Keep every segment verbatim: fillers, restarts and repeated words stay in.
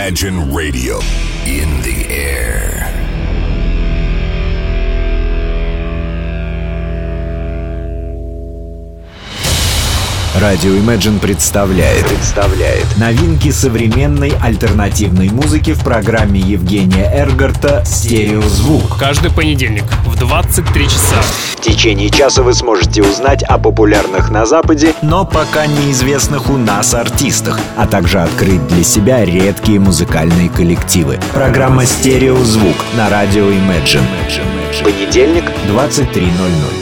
Imagine Radio in the air. Радио Imagine представляет, представляет новинки современной альтернативной музыки в программе Евгения Эргарта «Стереозвук». Каждый понедельник в двадцать три часа. В течение часа вы сможете узнать о популярных на Западе, но пока неизвестных у нас артистах, а также открыть для себя редкие музыкальные коллективы. Программа «Стереозвук» на радио Imagine. Понедельник, двадцать три ноль ноль.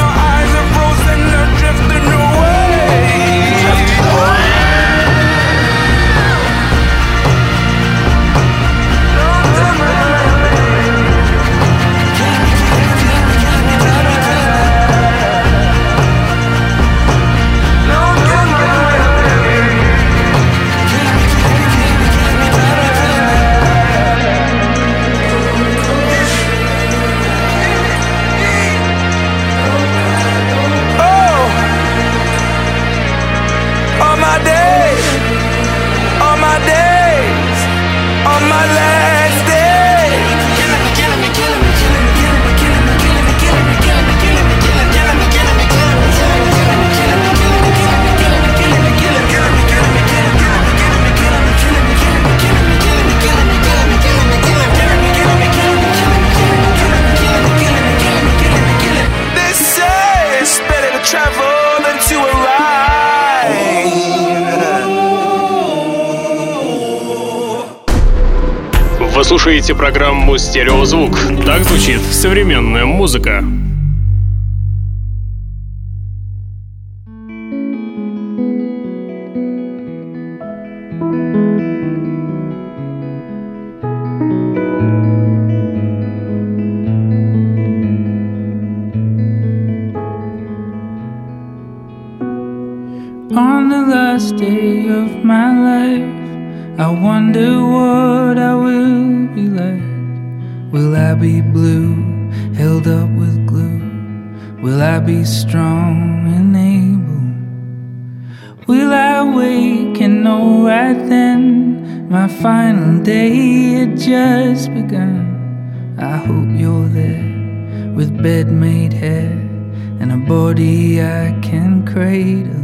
Your eyes are frozen, you're drifting away. слушаете программу «Стереозвук». Так звучит современная музыка. On the last day of my life, I wonder what I will be like. Will I be blue, held up with glue? Will I be strong and able? Will I wake and know right then my final day had just begun? I hope you're there with bed-made hair and a body I can cradle.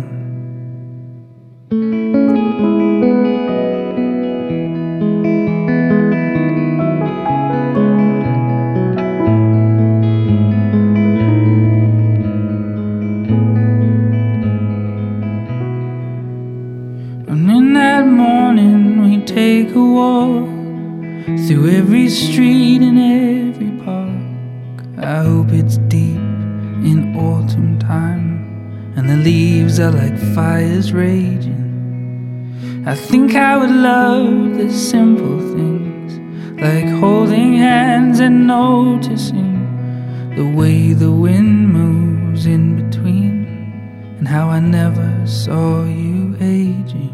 Take a walk through every street and every park. I hope it's deep in autumn time and the leaves are like fires raging. I think I would love the simple things, like holding hands and noticing the way the wind moves in between, and how I never saw you aging.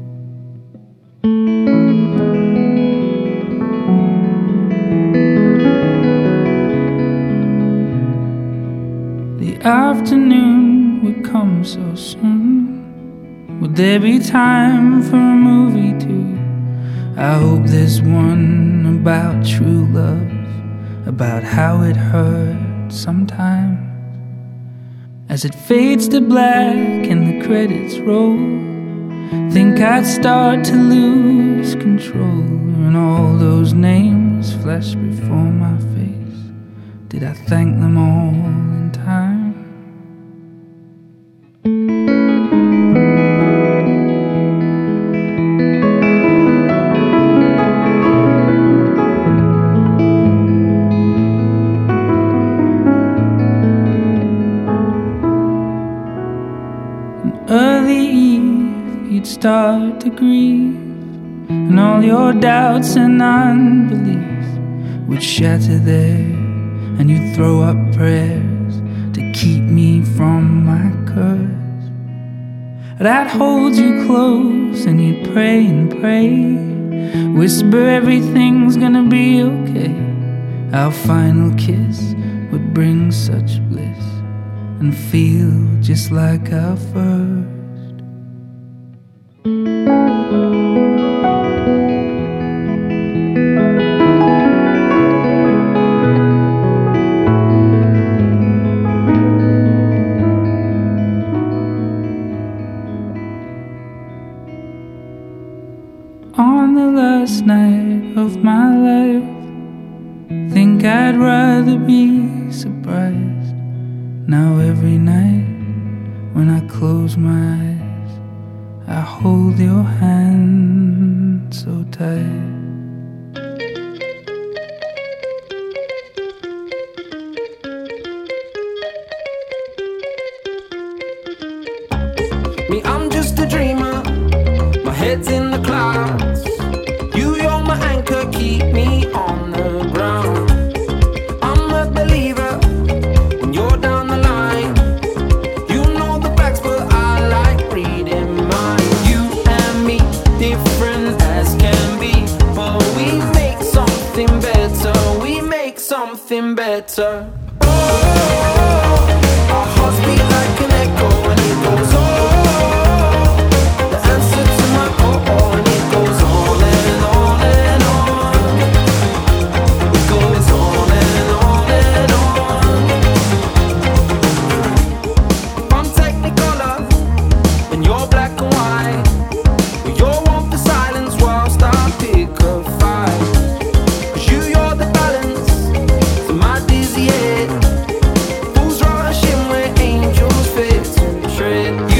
Afternoon would come so soon. Would there be time for a movie too? I hope there's one about true love, about how it hurts sometimes. As it fades to black and the credits roll, think I'd start to lose control, and all those names flash before my face. Did I thank them all in time? Early eve, you'd start to grieve, and all your doubts and unbelief would shatter there, and you'd throw up prayers to keep me from my curse. But I'd hold you close, and you'd pray and pray, whisper everything's gonna be okay. Our final kiss would bring such bliss and feel just like our first. On the last night of my life, think I'd rather be surprised. Now every night when I close my eyes, I hold your hand so tight. Me, I'm just a dreamer, my head's in the clouds. You, you're my anchor, keep me on the ground. I'm a believer when you're down the line. You know the facts, but I like reading mine. You and me, different as can be, but we make something better. We make something better. Oh, our hearts beat like an echo, and it goes on. Tread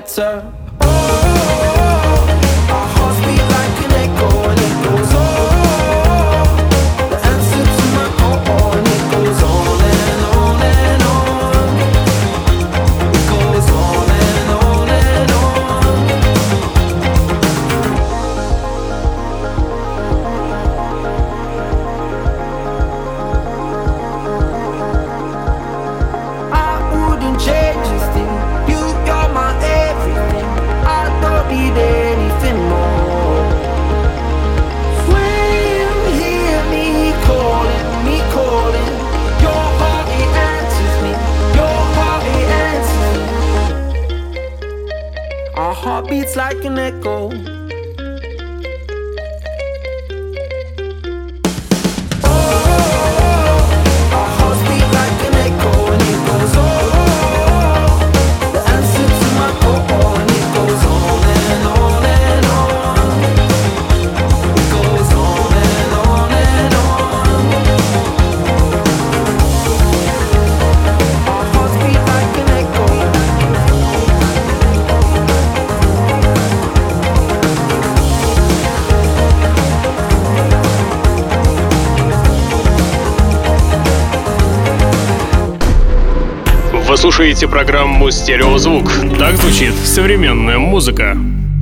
better. Oh, our hearts beat like an echo and it goes on. The answer to my oh, oh, and it goes on and on and on. It goes on and on and on. I wouldn't change a thing. You, you're my everything. I don't need anything more. When you hear me calling, me calling, your heart it answers me. Your heart it answers me. Our heart beats like an echo. Our hearts beat like an echo and it goes on. The answer to my oh, oh, and it goes on and on and on. It goes on and on and on. Our hearts beat like an echo. Вы слушаете программу «Стереозвук». Так звучит современная музыка.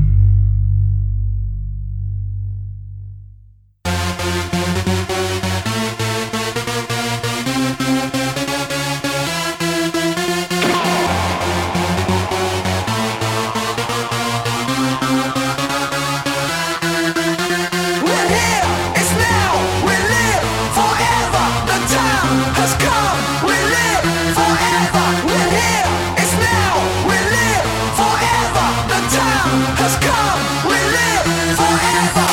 We're here, it's now, we live forever. The time has come, we live forever. We're here, it's now, we live forever. The time has come, we live forever.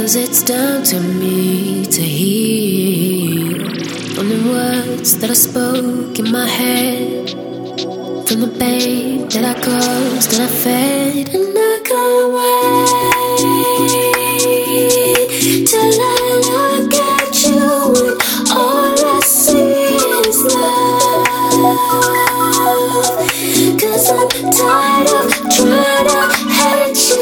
'cause it's down to me to heal from the words that I spoke in my head, from the pain that I caused, that I fed, and I can't wait till I look at you and all I see is love. 'Cause I'm tired of trying to hate you.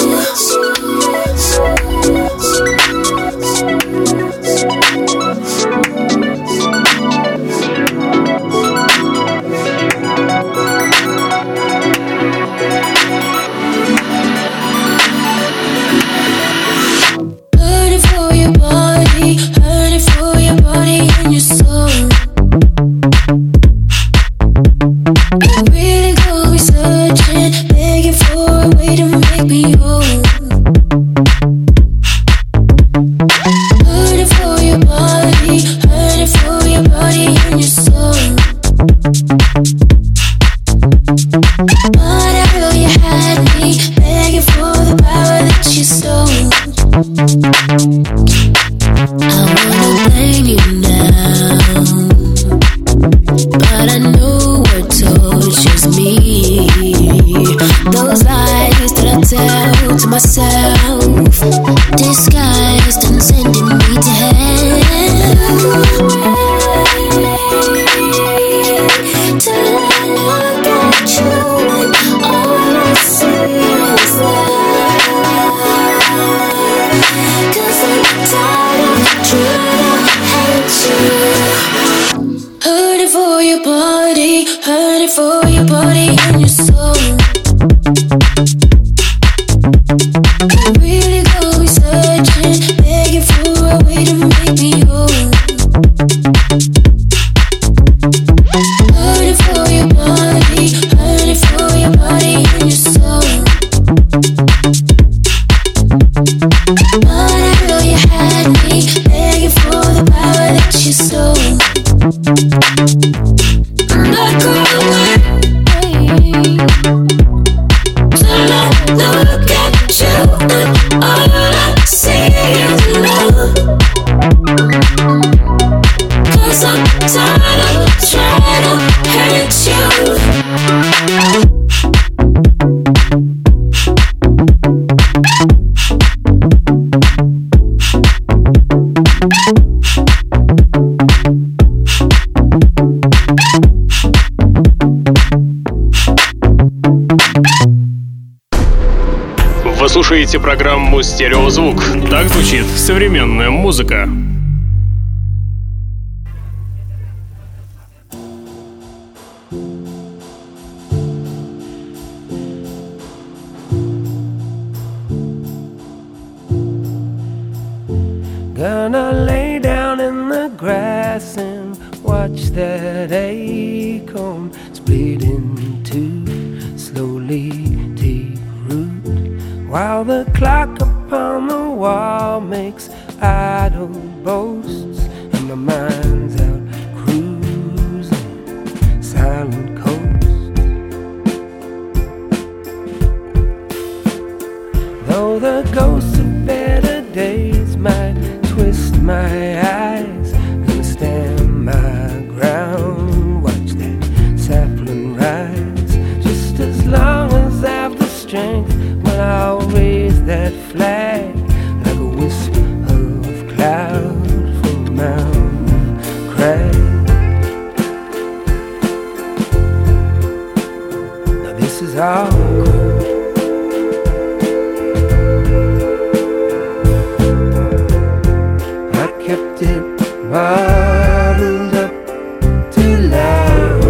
Hurting for your body, hurting for your body and your soul. You really got me searching, begging for a way to make me whole. Hurting for your body, hurting for your body and your soul. But I know you had me, begging for the power that you stole. I wanna blame you now, but I know what tortures me. Those lies that I tell to myself, disguised and sending me to hell. Till I look at you and all I see is love. 'Cause I'm tired of trying to hate you. Hurting for your body, hurting for your body and your soul. You really got me searching, begging for a way to make me whole. Hurting for your body, hurting for your body and your soul. But I know you had me, begging for the power that you stole. And I can't wait till I look at you and all I see is love. 'Cause I'm tired of trying to hate you. Вы слушаете программу «Стереозвук». Так звучит современная музыка. Gonna lay down in the grass and watch that acorn split in two, slowly take root, while the clock upon the wall makes idle boasts, and my mind's out cruising silent coast. Though the ghosts of better days might twist my eyes, gonna stand my ground, watch that sapling rise. Just as long as I've the strength, well, I'll raise that flag like a wisp of cloud from a mountain crag. Now this is awkward. Kept it bottled up too loud.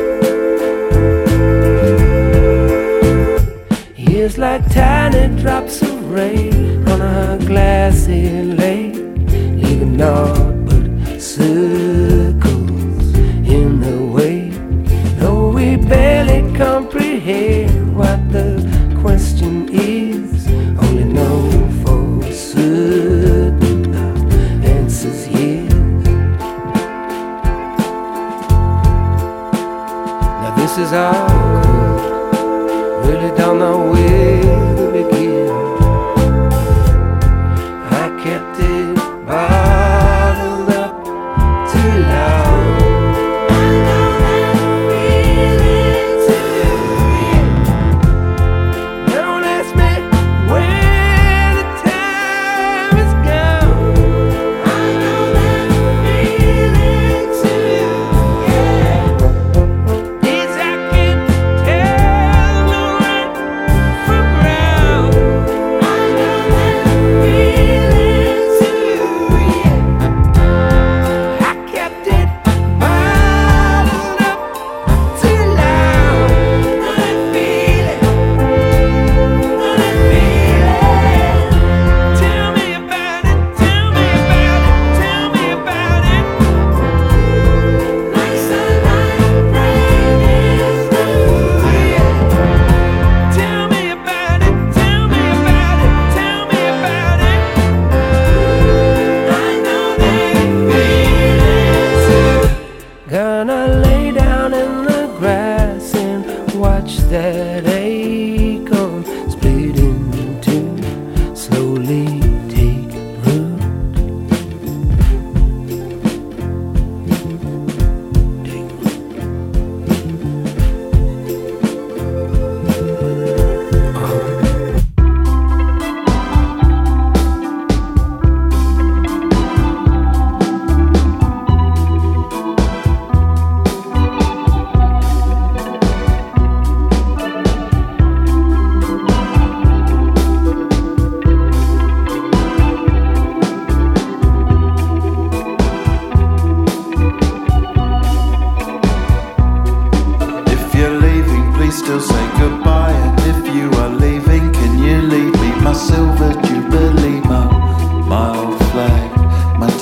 Years like tiny drops of rain on a glassy lake, leaving naught but circles in the wake. Though we barely comprehend what the question is, only know for certain answers yes. Now this is awkward, really don't know where to begin. I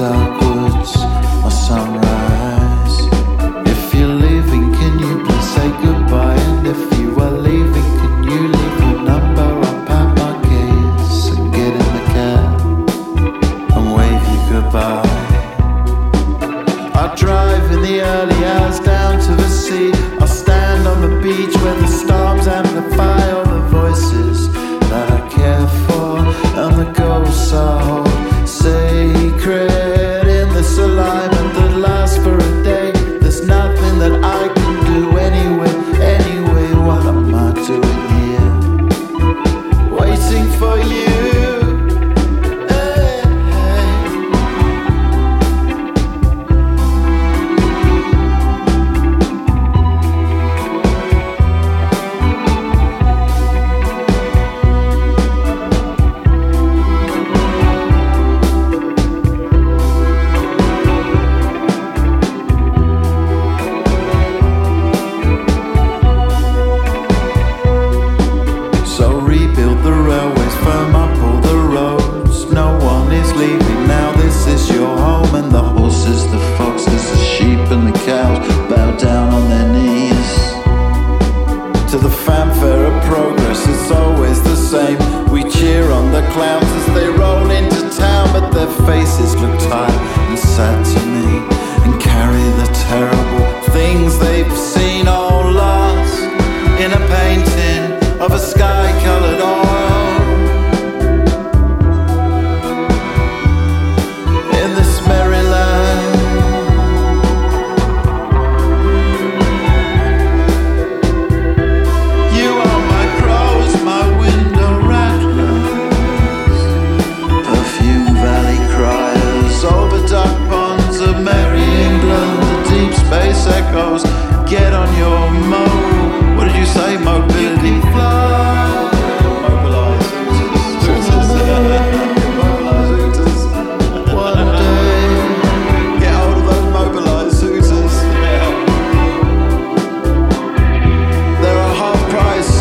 dark woods or sunrise. If you're leaving, can you please say goodbye? And if you are leaving, can you leave your number? I'll pack my keys and get in the cab and wave you goodbye. I'll drive in the early hours down to the sea. I'll stand on the beach where the storms amplify all the voices that I care for, and the ghosts I hold sacred in this alignment that lasts for a day. There's nothing that I can do anyway. Anyway, what am I doing here? Waiting for you. Faces look tired and sad to me, and carry the terrible things they've seen all lost in a painting of a sky-colored oil. In this merry land, you are my crows, my window rattlers, perfume valley criers over dark ponds of merry England. The deep space echoes get on your mo. What did you say? Mobility fly. Mobilize Hooters. Mobilize Hooters. One day, get hold of those mobilize Hooters. They're a half price.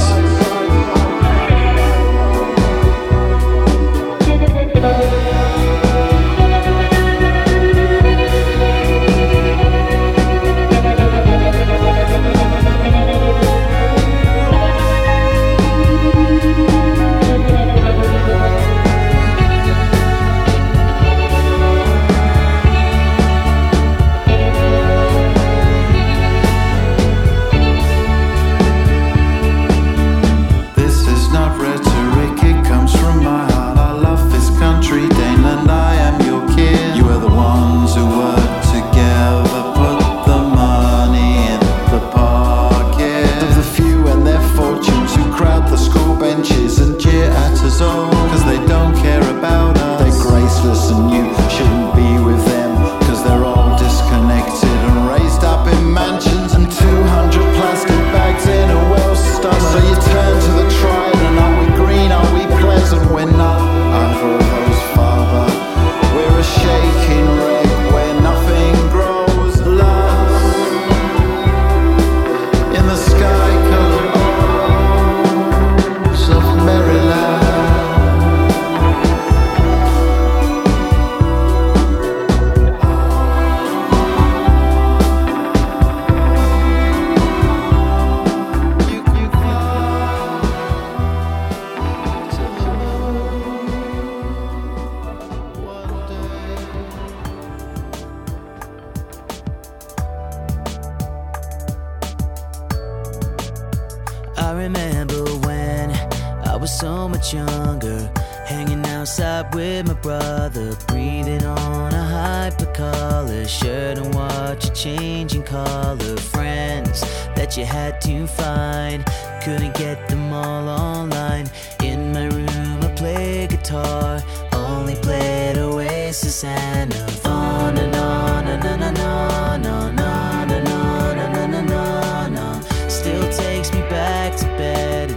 I remember when I was so much younger, hanging outside with my brother, breathing on a hyper-collar shirt and watch a changing color. Friends that you had to find, couldn't get them all online. In my room I play guitar, only played Oasis and on and on and on and on and on and on and on and on. Still takes me back to better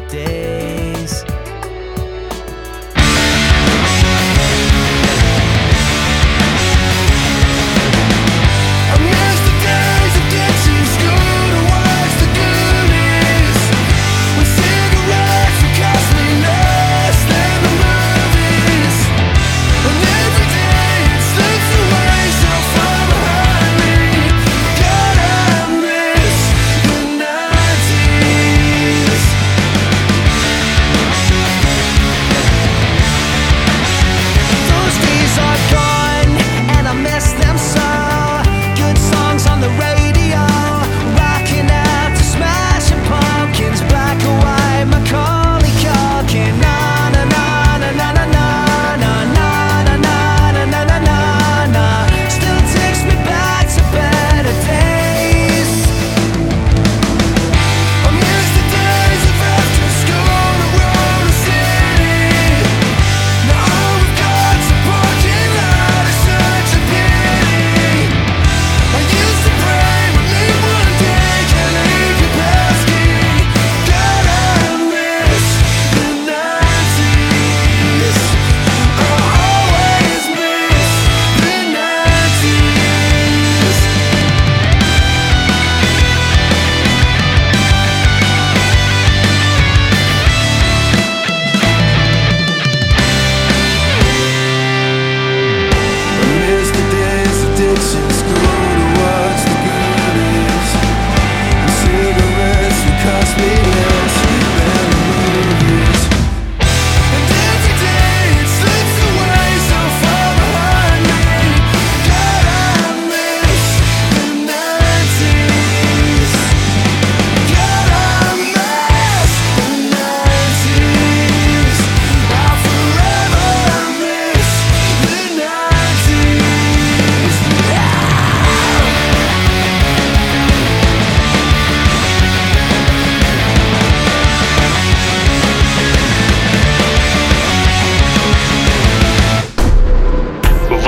days. I miss the days of ditching school to watch the goodies, when cigarettes would cost me less than the movies, and every day it slips away.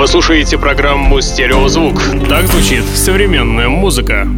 Вы слушаете программу «Стереозвук». Так звучит современная музыка.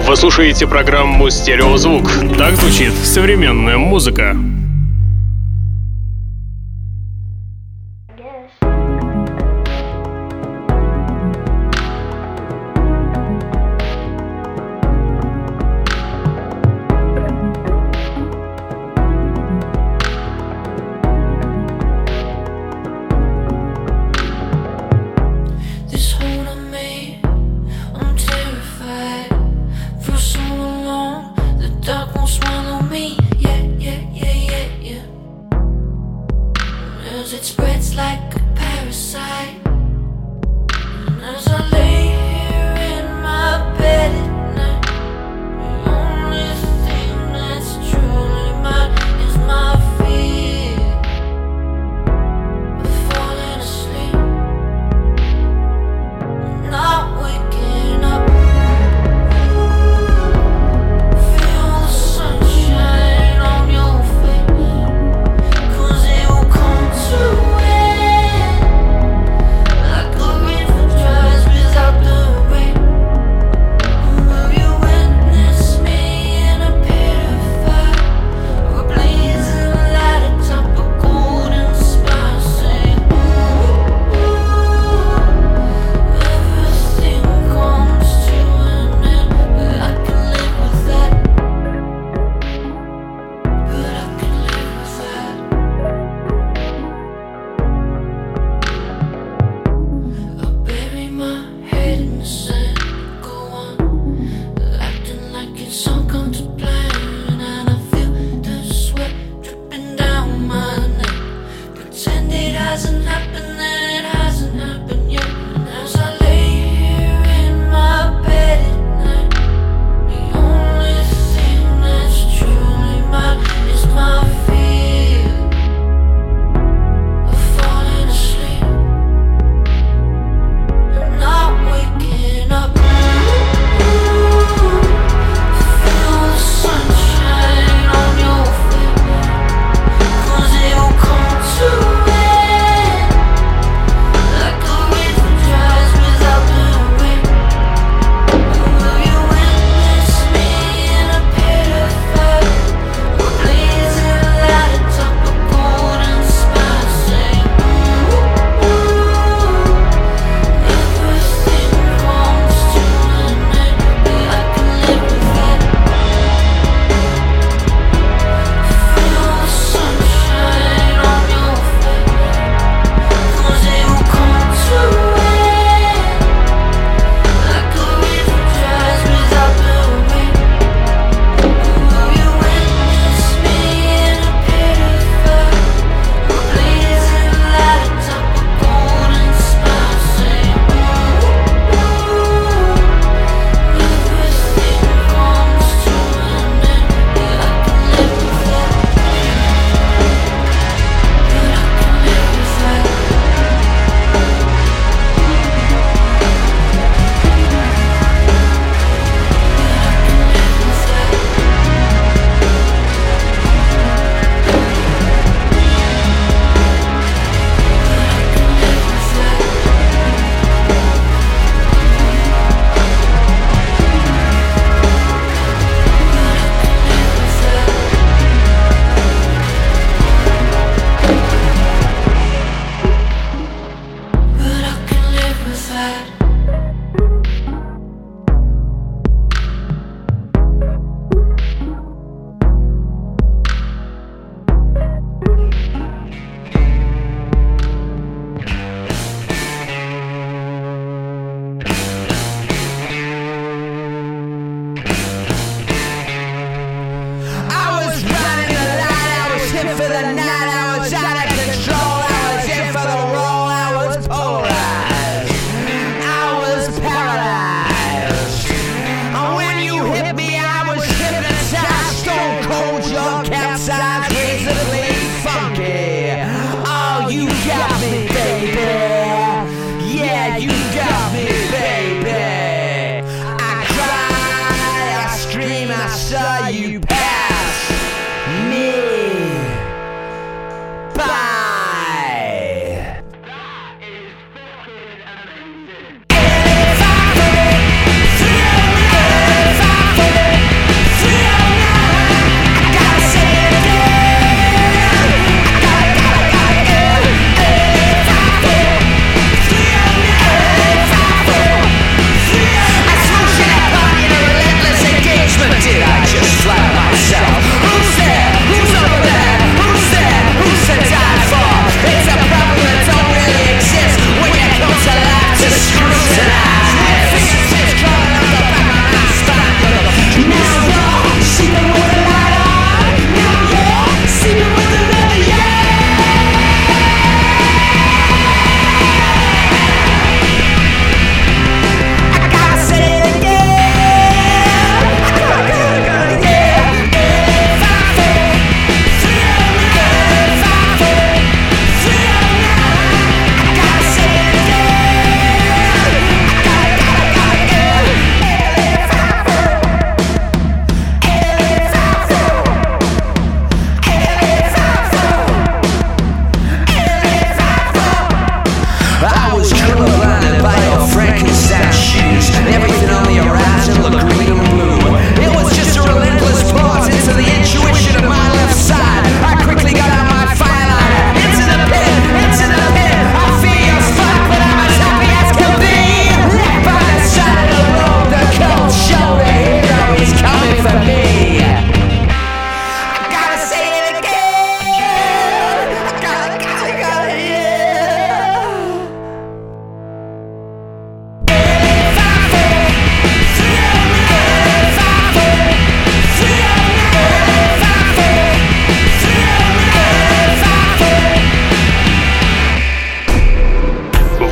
Вы слушаете программу «Стереозвук». Так звучит современная музыка. Dark won't swallow me, yeah, yeah, yeah, yeah.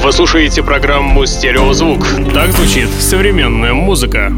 Вы слушаете программу «Стереозвук». Так звучит современная музыка.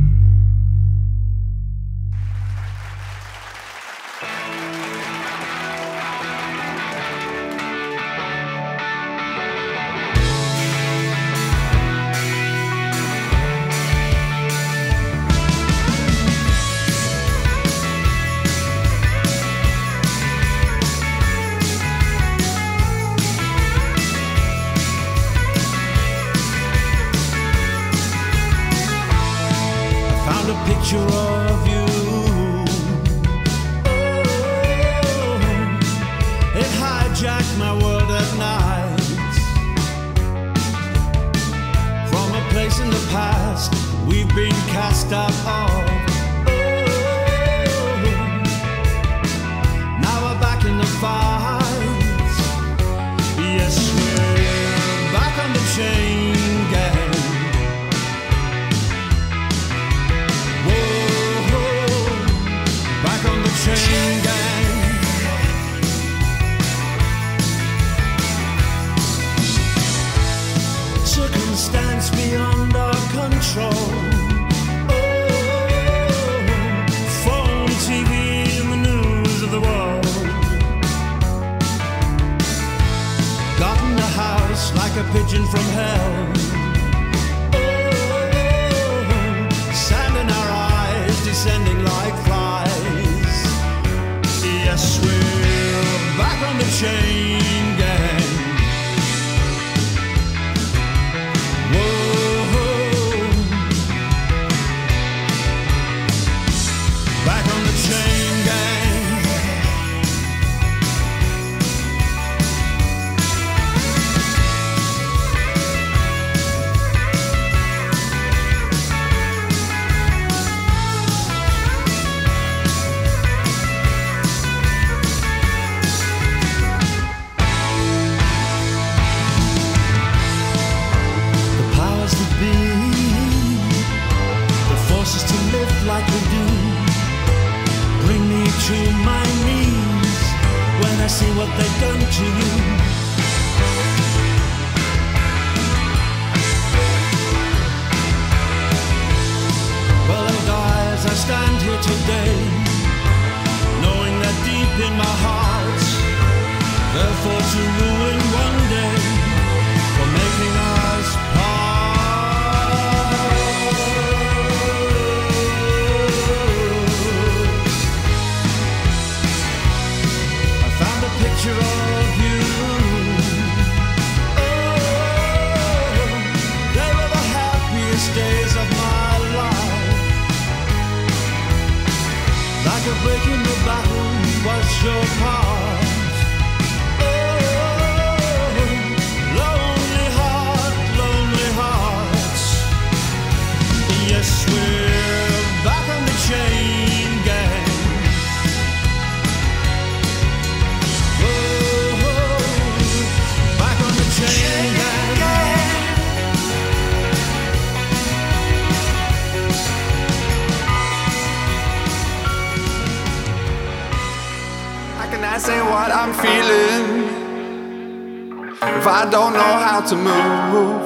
To move,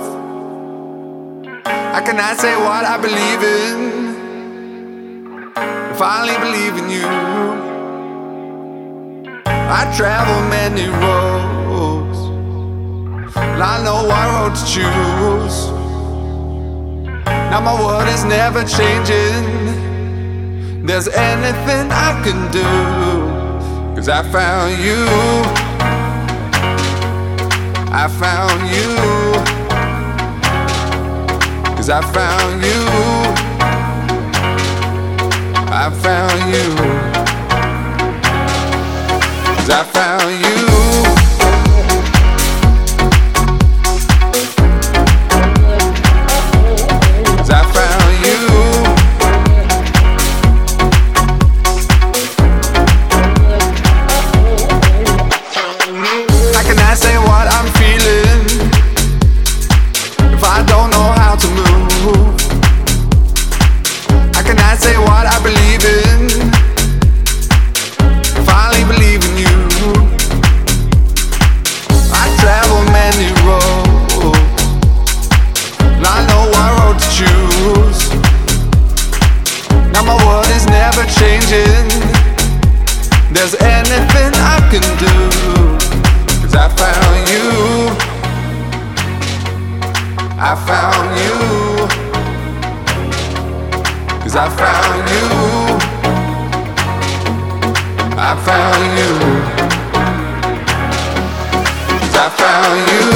how can I say what I believe in if I only believe in you? I travel many roads, and I know what road to choose. Now my world is never changing. There's anything I can do, 'cause I found you. I found you, 'cause I found you, I found you, 'cause I found you, 'cause I found you. How can I say what I'm feeling if I don't know how to move? How can I say what I believe in if I only believe in you? changing. There's anything I can do, 'cause I found you. I found you. 'Cause I found you. I found you. 'Cause I found you.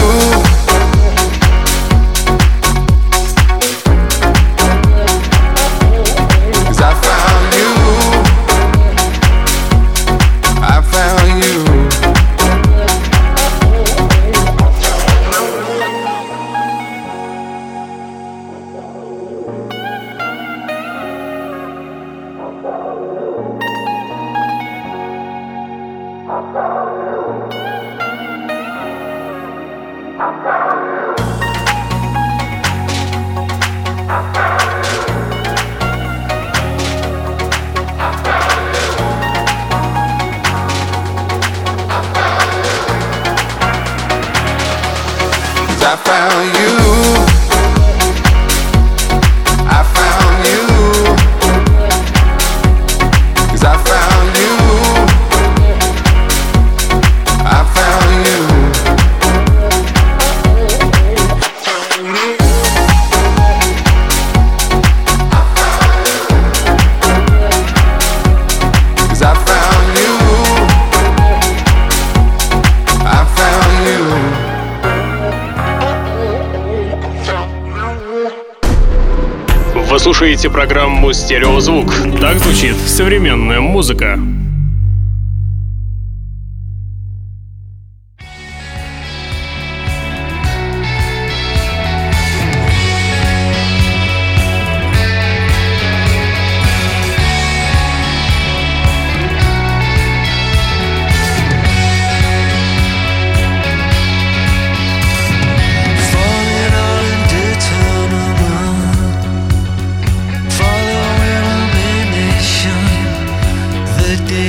I found you. I found you. 'Cause I found you. I found you. 'Cause I found you. I found you. Вы слушаете программу «Стереозвук». Так звучит современная музыка. The day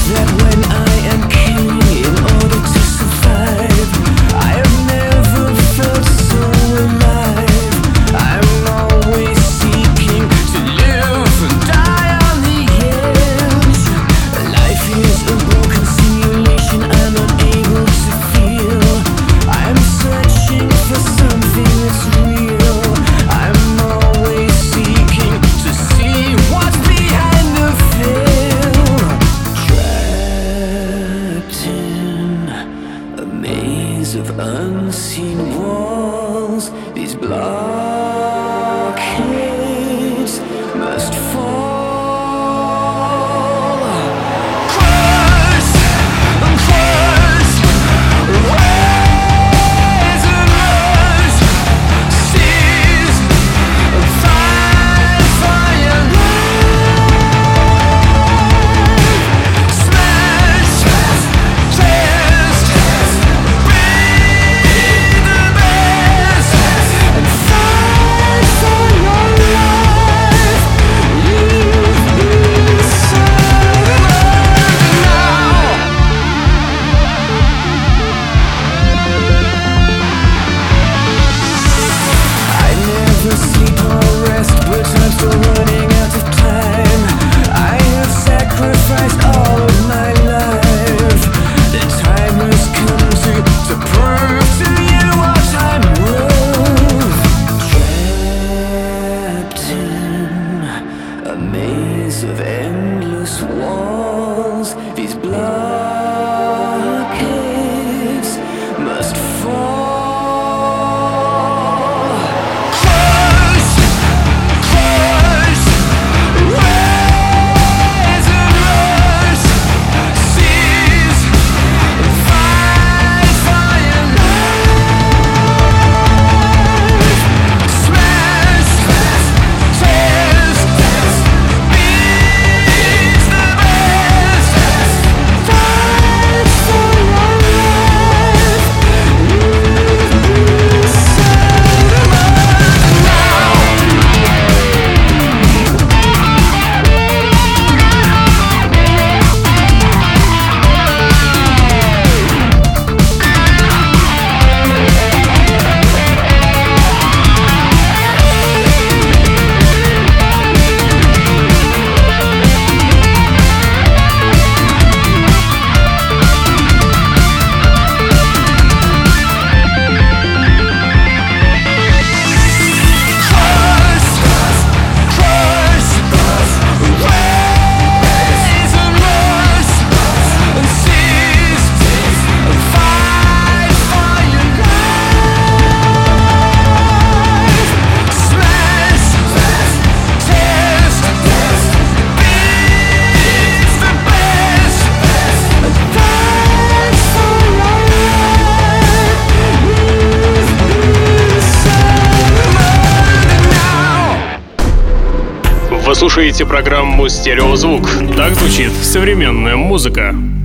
Вы слушаете программу «Стереозвук». Так звучит современная музыка.